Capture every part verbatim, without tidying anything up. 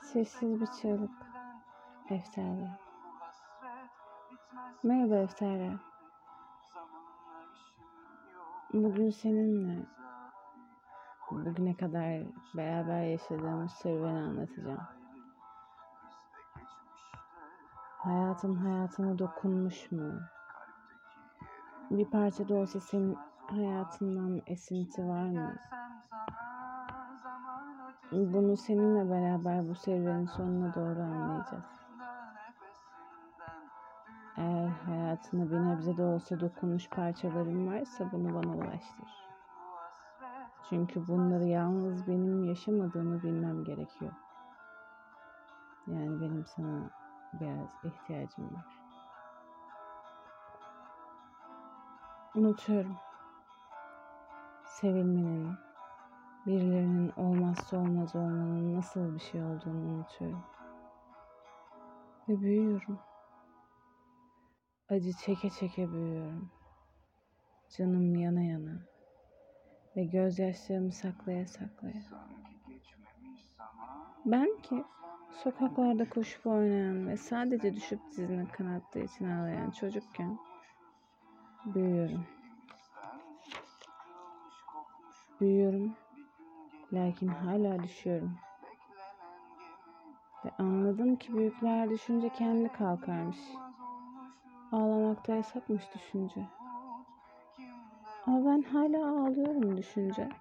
Sessiz bir çığlık. Efterya. Merhaba Efterya. Bugün seninle bugüne kadar beraber yaşadığımız serüveni anlatacağım. Hayatım hayatına dokunmuş mu? Bir parça da olsa senin hayatından esinti var mı? Bunu seninle beraber bu serüvenin sonuna doğru anlayacağız. Eğer hayatına bir nebze de olsa dokunmuş parçaların varsa bunu bana ulaştır. Çünkü bunları yalnız benim yaşamadığımı bilmem gerekiyor. Yani benim sana biraz ihtiyacım var. Unutuyorum. Sevilmenin, birilerinin olmazsa olmaz olmanın nasıl bir şey olduğunu unutuyorum. Ve büyüyorum. Acı çeke çeke büyüyorum. Canım yana yana. Ve gözyaşlarımı saklaya saklaya. Ben ki sokaklarda koşup oynayan ve sadece düşüp dizine kanattığı için ağlayan çocukken büyüyorum. Büyüyorum. Lakin hala düşüyorum. Ve anladım ki büyükler düşünce kendi kalkarmış. Ağlamakta yasakmış düşünce. Ama ben hala ağlıyorum düşünce.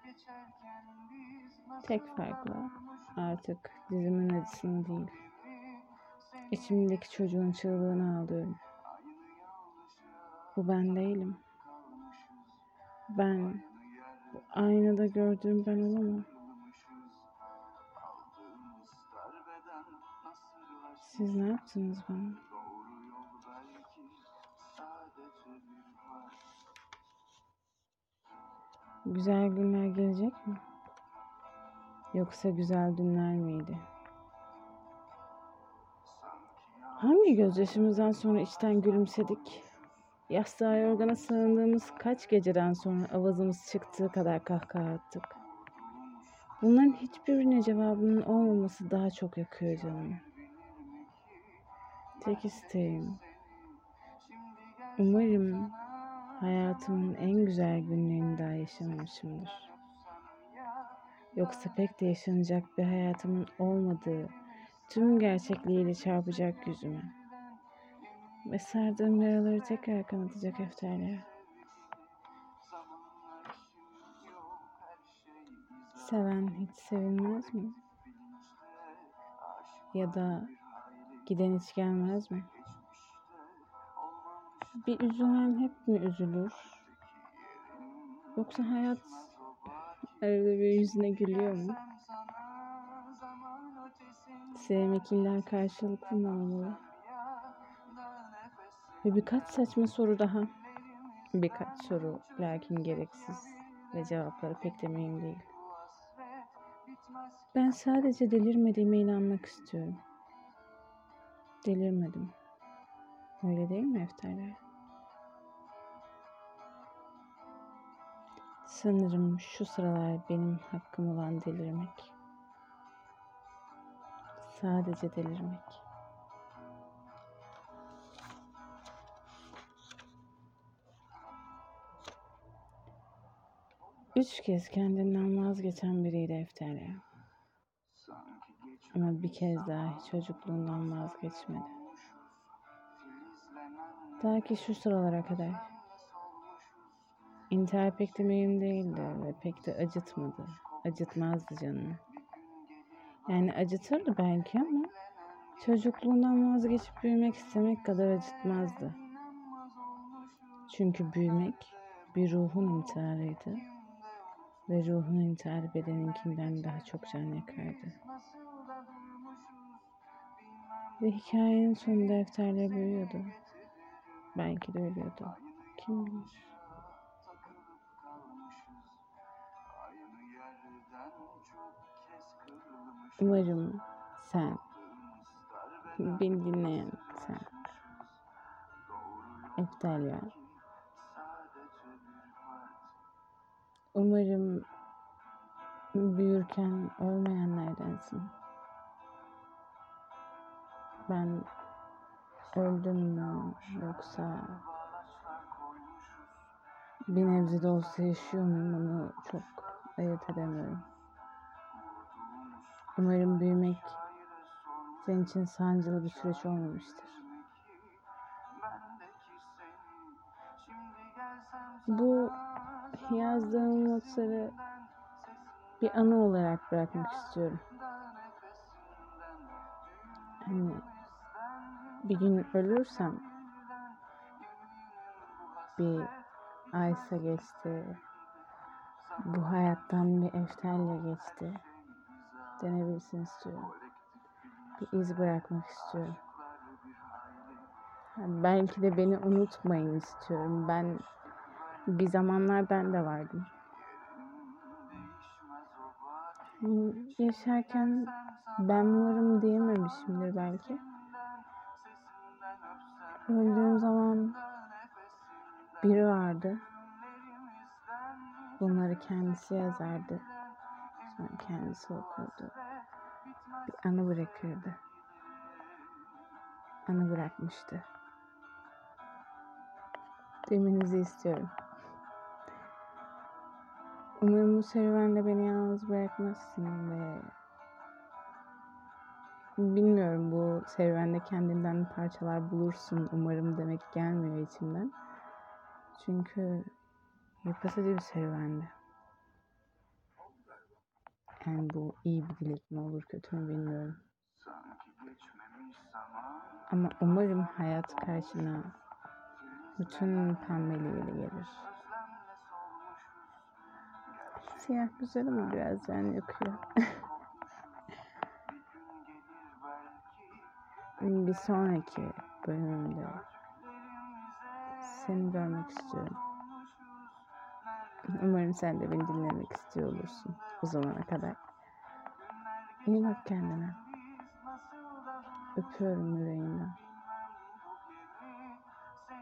Tek farkla artık dizimin acısını değil, içimdeki çocuğun çığlığını ağlıyorum. Bu ben değilim. Ben, bu aynada gördüğüm ben olamam. Siz ne yaptınız bana? Güzel günler gelecek mi? Yoksa güzel dünler miydi? Hangi gözyaşımızdan sonra içten gülümsedik? Yastığa yorgana sığındığımız kaç geceden sonra avazımız çıktığı kadar kahkaha attık. Bunların hiçbirine cevabının olmaması daha çok yakıyor canımı. Tek isteğim, umarım hayatımın en güzel günlerini daha yaşamamışımdır. Yoksa pek de yaşanacak bir hayatımın olmadığı tüm gerçekliğiyle çarpacak yüzüme. Ve sardığım yaraları tekrar kanatacak Efterya. Seven hiç sevilmez mi? Ya da giden hiç gelmez mi? Bir üzülen hep mi üzülür? Yoksa hayat arada bir yüzüne gülüyor mu? Sevmek illa karşılıklı mı olmalı? Ve birkaç saçma soru daha. Birkaç soru lakin gereksiz ve cevapları pek de mühim değil. Ben sadece delirmediğime inanmak istiyorum. Delirmedim. Öyle değil mi Efterya? Sanırım şu sıralar benim hakkım olan delirmek. Sadece delirmek. Üç kez kendinden vazgeçen biriydi Efterya. Ama bir kez daha çocukluğundan vazgeçmedi. Ta ki şu sıralara kadar. İntihar pek de mühim değildi ve pek de acıtmadı. Acıtmazdı canını. Yani acıtırdı belki ama çocukluğundan vazgeçip büyümek istemek kadar acıtmazdı. Çünkü büyümek bir ruhun intiharıydı. Ve ruhun intiharı bedeninkinden daha çok can yakardı. Ve hikayenin sonunda Efterya büyüyordu. Belki de ölüyordu. Kim bilir? Umarım sen, beni dinleyen sen, Efterya, umarım büyürken ölmeyenlerdensin. ben öldüm mü yoksa bir nebze de olsa yaşıyor muyum onu çok ayırt edemiyorum. Umarım büyümek senin için sancılı bir süreç olmamıştır. Bu yazdığım notları bir anı olarak bırakmak istiyorum. Hani bir gün ölürsem bir aysa geçti, bu hayattan bir efterle geçti denebilsin istiyorum. Bir iz bırakmak istiyorum. Yani belki de beni unutmayın istiyorum. Ben bir zamanlar ben de vardım. Yani yaşarken ben varım diyememişimdir belki. Öldüğüm zaman biri vardı. Bunları kendisi yazardı. Sonra kendisi okurdu. Bir anı bırakırdı. Anı bırakmıştı. Demenizi istiyorum. Umarım bu serüvende beni yalnız bırakmazsın ve bilmiyorum, bu serüvende kendinden parçalar bulursun umarım demek gelmiyor içimden. Çünkü yıpratıcı bir serüvendi. Yani bu iyi bir dilek mi olur kötü mü bilmiyorum. Ama umarım hayat karşına bütün pembeliğiyle gelir. Siyah güzel ama biraz yani yakıyor. Bir sonraki bölümde seni görmek istiyorum. Umarım sen de beni dinlemek istiyor olursun o zamana kadar. İyi bak kendine. Öpüyorum yüreğinden.